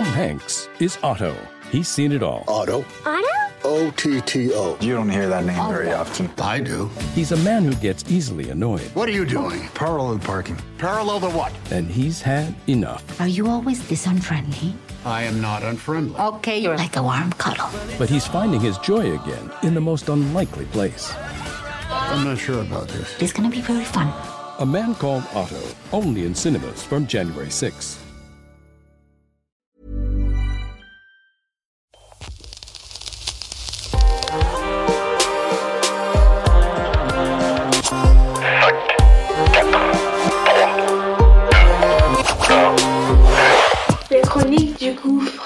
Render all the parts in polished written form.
Hanks is Otto. He's seen it all. Otto? O-T-T-O. You don't hear that name very often. I do. He's a man who gets easily annoyed. What are you doing? Parallel parking. Parallel to what? And he's had enough. Are you always this unfriendly? I am not unfriendly. Okay, you're like a warm cuddle. But he's finding his joy again in the most unlikely place. I'm not sure about this. It's gonna be very fun. A Man Called Otto, only in cinemas from January 6th. Les chroniques du gouffre.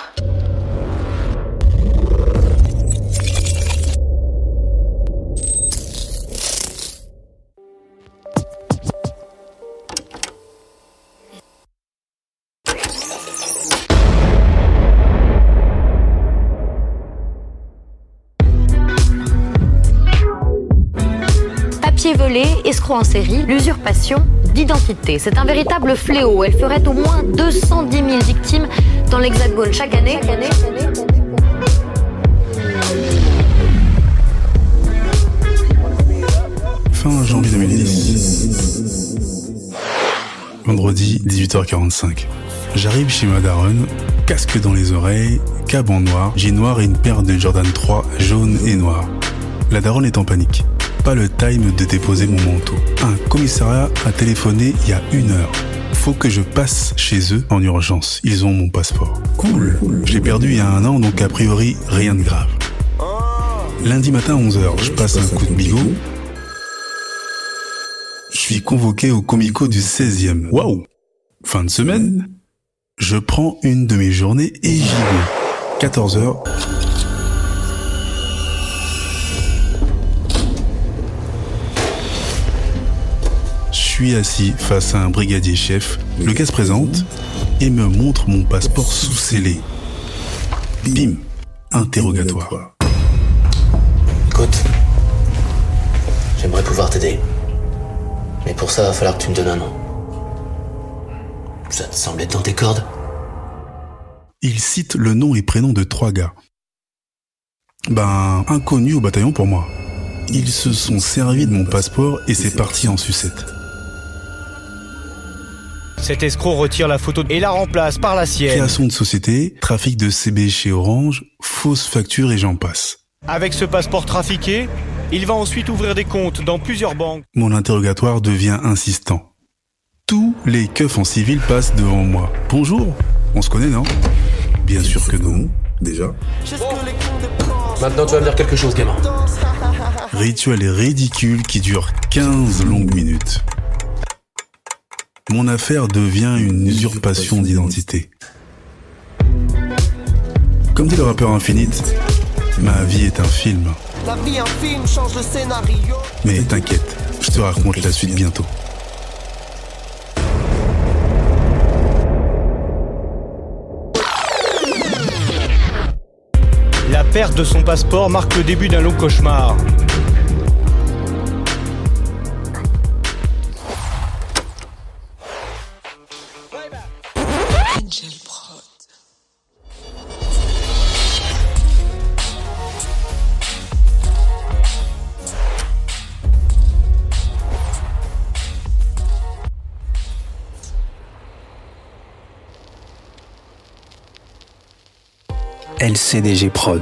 Papier volé, escroc en série, l'usurpation d'identité. C'est un véritable fléau. Elle ferait au moins 210 000 victimes dans l'Hexagone chaque année. Fin janvier 2010. Vendredi, 18h45. J'arrive chez ma daronne, casque dans les oreilles, cab en noir, jean noir et une paire de Jordan 3 jaune et noir. La daronne est en panique. Pas le time de déposer mon manteau. Un commissariat a téléphoné il y a 1 heure. Faut que je passe chez eux en urgence. Ils ont mon passeport. Cool. Je l'ai perdu il y a 1 an, donc a priori, rien de grave. Lundi matin 11h, je passe un coup de bigot. Je suis convoqué au Comico du 16e. Waouh! Fin de semaine, je prends une de mes journées et j'y vais. 14h. Je suis assis face à un brigadier chef. Le gars se présente et me montre mon passeport sous scellé. Bim! Interrogatoire. Écoute, j'aimerais pouvoir t'aider. Mais pour ça, il va falloir que tu me donnes un nom. Ça te semble être dans tes cordes? Il cite le nom et prénom de 3 gars. Inconnus au bataillon pour moi. Ils se sont servis de mon passeport et c'est parti en sucette. Cet escroc retire la photo et la remplace par la sienne. Création de société, trafic de CB chez Orange, fausses factures et j'en passe. Avec ce passeport trafiqué, il va ensuite ouvrir des comptes dans plusieurs banques. Mon interrogatoire devient insistant. Tous les keufs en civil passent devant moi. Bonjour, on se connaît, non? Bien sûr que non, déjà. Maintenant, tu vas me dire quelque chose, gamin. Rituel ridicule qui dure 15 longues minutes. Mon affaire devient une usurpation d'identité. Comme dit le rappeur Infinite, ma vie est un film. La vie un film, change le scénario. Mais t'inquiète, je te raconte la suite bientôt. La perte de son passeport marque le début d'un long cauchemar. Angel Prod. LCDG Prod.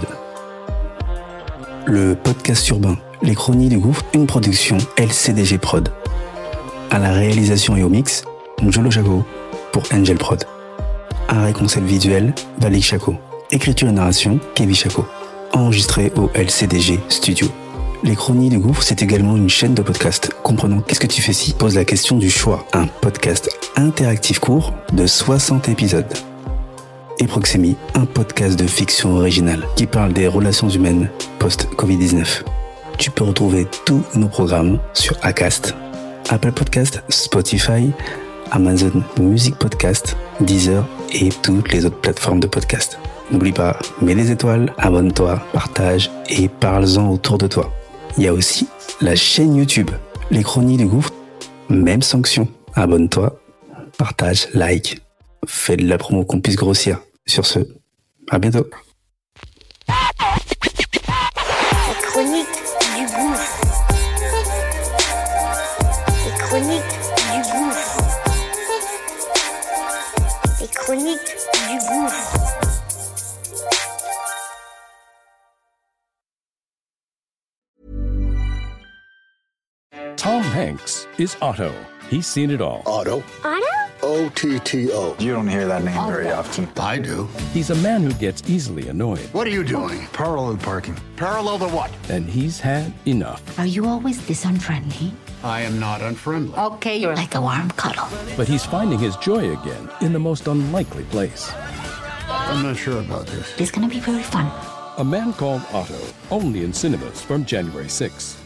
Le podcast urbain, les chroniques du gouffre, une production LCDG Prod. À la réalisation et au mix, Njolo Chaco pour Angel Prod. Un concept visuel, Valik Chaco. Écriture et narration, Kevin Chaco. Enregistré au LCDG Studio. Les chroniques du gouffre, c'est également une chaîne de podcast comprenant Qu'est-ce que tu fais si pose la question du choix. Un podcast interactif court de 60 épisodes. Et Proxémie, un podcast de fiction originale qui parle des relations humaines post-Covid-19. Tu peux retrouver tous nos programmes sur Acast, Apple Podcast, Spotify, Amazon Music Podcast, Deezer et toutes les autres plateformes de podcast. N'oublie pas, mets des étoiles, abonne-toi, partage et parle-en autour de toi. Il y a aussi la chaîne YouTube, les chroniques du gouffre, même sanction. Abonne-toi, partage, like, fais de la promo qu'on puisse grossir. Sur ce, à bientôt. Les chroniques du gouffre. Les chroniques du gouffre. Les chroniques du gouffre. Tom Hanks is Otto. He's seen it all. Otto? Otto? O-T-T-O. You don't hear that name very often. I do. He's a man who gets easily annoyed. What are you doing? Parallel parking. Parallel to what? And he's had enough. Are you always this unfriendly? I am not unfriendly. Okay, you're like a warm cuddle. But he's finding his joy again in the most unlikely place. I'm not sure about this. It's gonna be very fun. A Man Called Otto, only in cinemas from January 6.